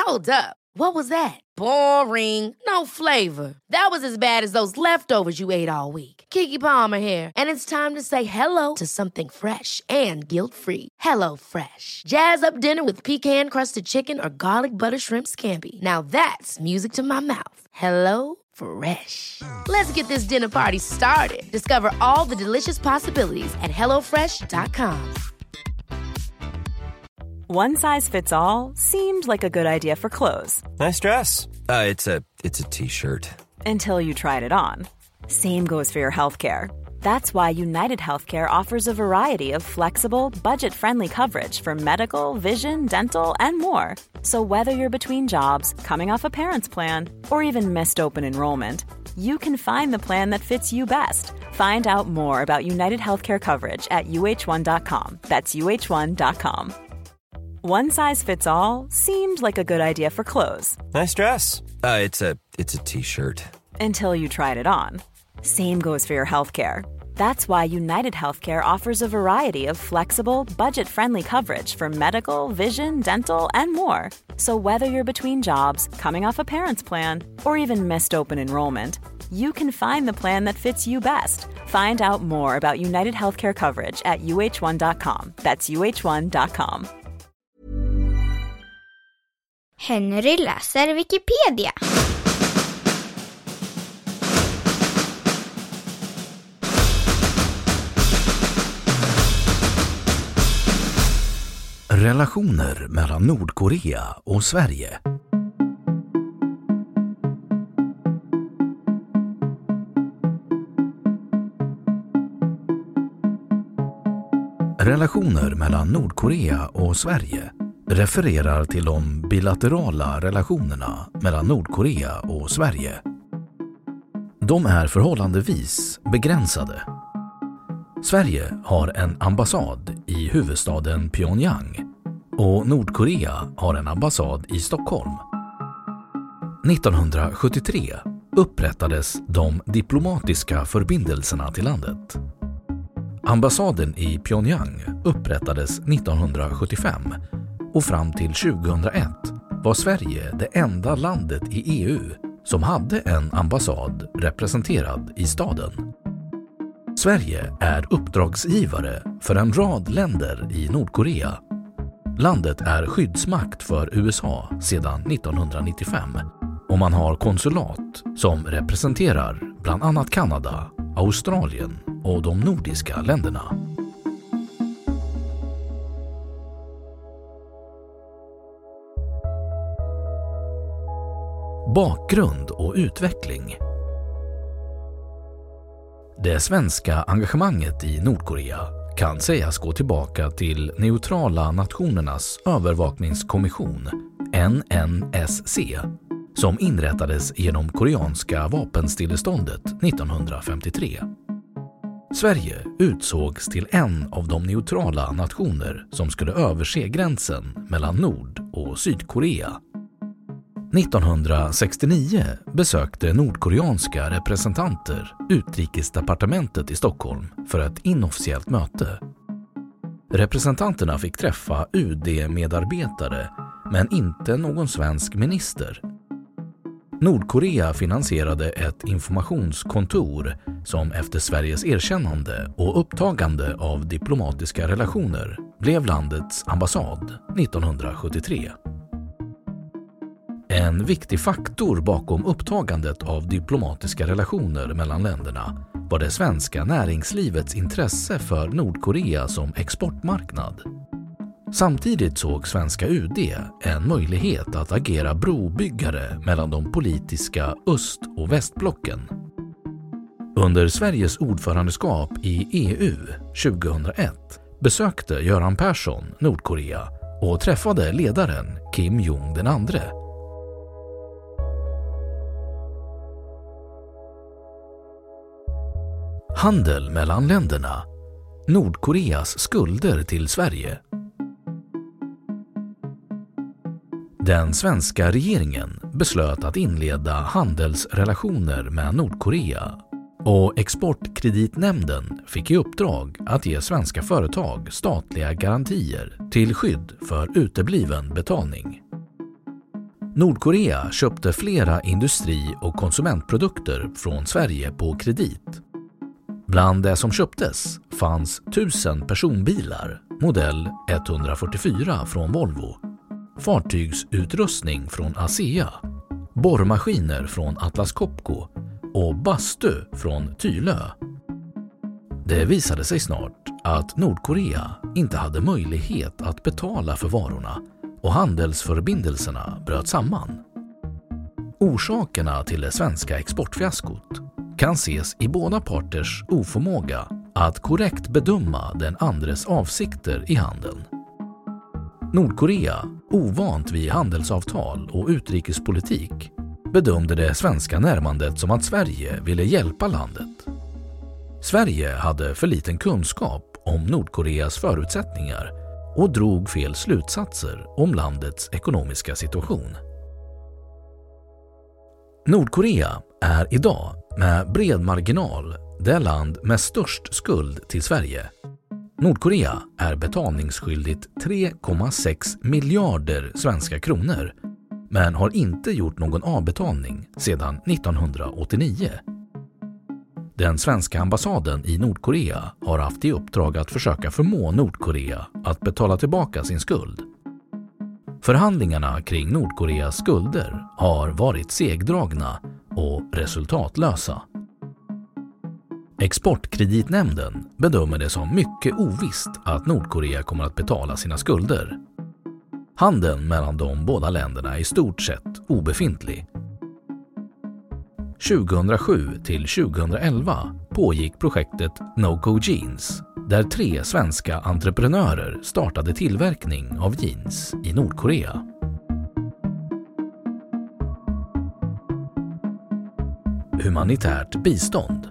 Hold up. What was that? Boring. No flavor. That was as bad as those leftovers you ate all week. Keke Palmer here, and it's time to say hello to something fresh and guilt-free. Hello Fresh. Jazz up dinner with pecan-crusted chicken or garlic butter shrimp scampi. Now that's music to my mouth. Hello Fresh. Let's get this dinner party started. Discover all the delicious possibilities at hellofresh.com. One size fits all seemed like a good idea for clothes. Nice dress. It's a t-shirt. Until you tried it on. Same goes for your healthcare. That's why United Healthcare offers a variety of flexible, budget-friendly coverage for medical, vision, dental, and more. So whether you're between jobs, coming off a parent's plan, or even missed open enrollment, you can find the plan that fits you best. Find out more about United Healthcare coverage at uh1.com. That's uh1.com. One size fits all seemed like a good idea for clothes. Nice dress. It's a t-shirt. Until you tried it on. Same goes for your healthcare. That's why United Healthcare offers a variety of flexible, budget-friendly coverage for medical, vision, dental, and more. So whether you're between jobs, coming off a parent's plan, or even missed open enrollment, you can find the plan that fits you best. Find out more about United Healthcare coverage at uh1.com. That's uh1.com. Henry läser Wikipedia. Relationer mellan Nordkorea och Sverige. Relationer mellan Nordkorea och Sverige refererar till de bilaterala relationerna mellan Nordkorea och Sverige. De är förhållandevis begränsade. Sverige har en ambassad i huvudstaden Pyongyang och Nordkorea har en ambassad i Stockholm. 1973 upprättades de diplomatiska förbindelserna till landet. Ambassaden i Pyongyang upprättades 1975 och fram till 2001 var Sverige det enda landet i EU som hade en ambassad representerad i staden. Sverige är uppdragsgivare för en rad länder i Nordkorea. Landet är skyddsmakt för USA sedan 1995 och man har konsulat som representerar bland annat Kanada, Australien och de nordiska länderna. Bakgrund och utveckling. Det svenska engagemanget i Nordkorea kan sägas gå tillbaka till Neutrala Nationernas övervakningskommission, NNSC, som inrättades genom koreanska vapenstilleståndet 1953. Sverige utsågs till en av de neutrala nationer som skulle överse gränsen mellan Nord- och Sydkorea. 1969 besökte nordkoreanska representanter utrikesdepartementet i Stockholm för ett inofficiellt möte. Representanterna fick träffa UD-medarbetare men inte någon svensk minister. Nordkorea finansierade ett informationskontor som efter Sveriges erkännande och upptagande av diplomatiska relationer blev landets ambassad 1973. En viktig faktor bakom upptagandet av diplomatiska relationer mellan länderna var det svenska näringslivets intresse för Nordkorea som exportmarknad. Samtidigt såg svenska UD en möjlighet att agera brobyggare mellan de politiska öst- och västblocken. Under Sveriges ordförandeskap i EU 2001 besökte Göran Persson Nordkorea och träffade ledaren Kim Jong den andre. Handel mellan länderna. Nordkoreas skulder till Sverige. Den svenska regeringen beslöt att inleda handelsrelationer med Nordkorea och Exportkreditnämnden fick i uppdrag att ge svenska företag statliga garantier till skydd för utebliven betalning. Nordkorea köpte flera industri- och konsumentprodukter från Sverige på kredit. Bland det som köptes fanns 1000 personbilar, modell 144 från Volvo, fartygsutrustning från ASEA, borrmaskiner från Atlas Copco och bastu från Tylö. Det visade sig snart att Nordkorea inte hade möjlighet att betala för varorna och handelsförbindelserna bröt samman. Orsakerna till det svenska exportfiaskot kan ses i båda parters oförmåga att korrekt bedöma den andres avsikter i handeln. Nordkorea, ovant vid handelsavtal och utrikespolitik, bedömde det svenska närmandet som att Sverige ville hjälpa landet. Sverige hade för liten kunskap om Nordkoreas förutsättningar och drog fel slutsatser om landets ekonomiska situation. Nordkorea är idag med bred marginal det land med störst skuld till Sverige. Nordkorea är betalningsskyldigt 3,6 miljarder svenska kronor men har inte gjort någon avbetalning sedan 1989. Den svenska ambassaden i Nordkorea har haft i uppdrag att försöka förmå Nordkorea att betala tillbaka sin skuld. Förhandlingarna kring Nordkoreas skulder har varit segdragna och resultatlösa. Exportkreditnämnden bedömer det som mycket ovisst att Nordkorea kommer att betala sina skulder. Handeln mellan de båda länderna är i stort sett obefintlig. 2007 till 2011 pågick projektet NoCo Jeans, där 3 svenska entreprenörer startade tillverkning av jeans i Nordkorea. Humanitärt bistånd.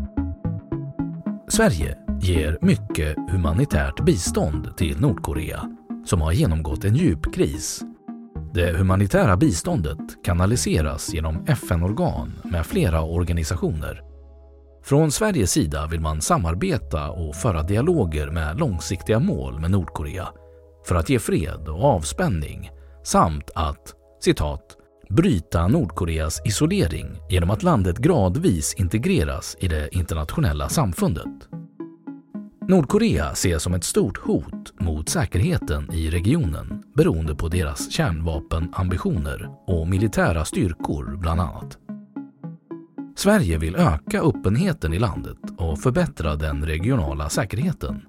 Sverige ger mycket humanitärt bistånd till Nordkorea, som har genomgått en djup kris. Det humanitära biståndet kanaliseras genom FN-organ med flera organisationer. Från Sveriges sida vill man samarbeta och föra dialoger med långsiktiga mål med Nordkorea för att ge fred och avspänning samt att, citat, bryta Nordkoreas isolering genom att landet gradvis integreras i det internationella samfundet. Nordkorea ses som ett stort hot mot säkerheten i regionen beroende på deras kärnvapenambitioner och militära styrkor bland annat. Sverige vill öka öppenheten i landet och förbättra den regionala säkerheten.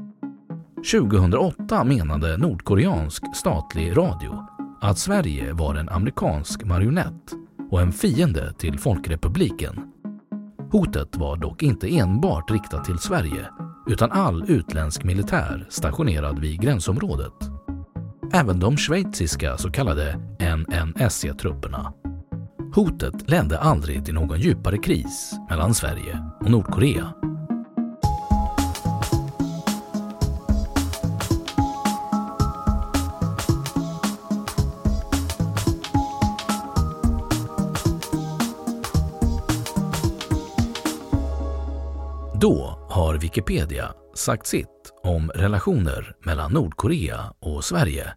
2008 menade nordkoreansk statlig radio att Sverige var en amerikansk marionett och en fiende till Folkrepubliken. Hotet var dock inte enbart riktat till Sverige utan all utländsk militär stationerad vid gränsområdet. Även de schweiziska så kallade NNSC-trupperna. Hotet ledde aldrig till någon djupare kris mellan Sverige och Nordkorea. Då har Wikipedia sagt sitt om relationer mellan Nordkorea och Sverige.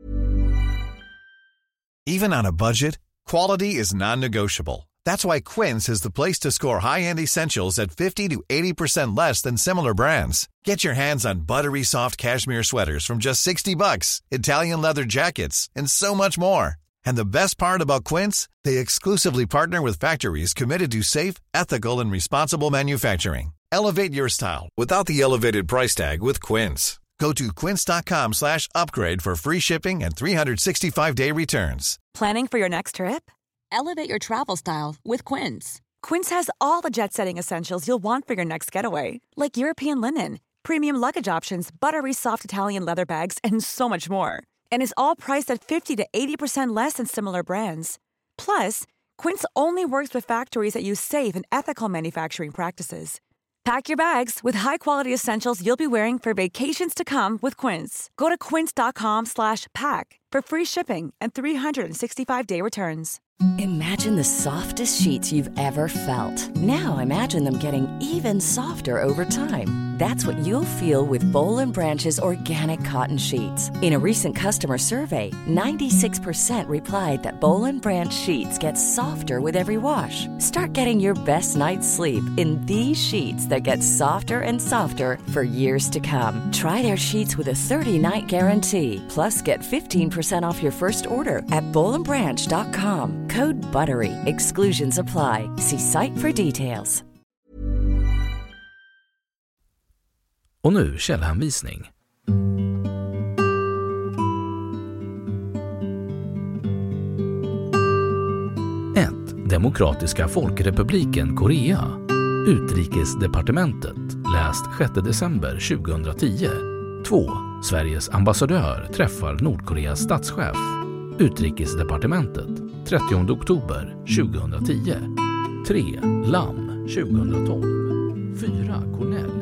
Even on a budget, quality is non-negotiable. That's why Quince is the place to score high-end essentials at 50 to 80% less than similar brands. Get your hands on buttery soft cashmere sweaters from just $60, Italian leather jackets, and so much more. And the best part about Quince, they exclusively partner with factories committed to safe, ethical, and responsible manufacturing. Elevate your style without the elevated price tag with Quince. Go to quince.com/upgrade for free shipping and 365-day returns. Planning for your next trip? Elevate your travel style with Quince. Quince has all the jet-setting essentials you'll want for your next getaway, like European linen, premium luggage options, buttery soft Italian leather bags, and so much more. And is all priced at 50 to 80% less than similar brands. Plus, Quince only works with factories that use safe and ethical manufacturing practices. Pack your bags with high-quality essentials you'll be wearing for vacations to come with Quince. Go to quince.com/pack for free shipping and 365-day returns. Imagine the softest sheets you've ever felt. Now imagine them getting even softer over time. That's what you'll feel with Boll & Branch's organic cotton sheets. In a recent customer survey, 96% replied that Boll & Branch sheets get softer with every wash. Start getting your best night's sleep in these sheets that get softer and softer for years to come. Try their sheets with a 30-night guarantee. Plus, get 15% off your first order at bollandbranch.com. Code BUTTERY. Exclusions apply. See site for details. Och nu källhänvisning. 1. Demokratiska folkrepubliken Korea. Utrikesdepartementet. Läst 6 december 2010. 2. Sveriges ambassadör träffar Nordkoreas statschef. Utrikesdepartementet. 30 oktober 2010. 3. Lam 2012. 4. Cornell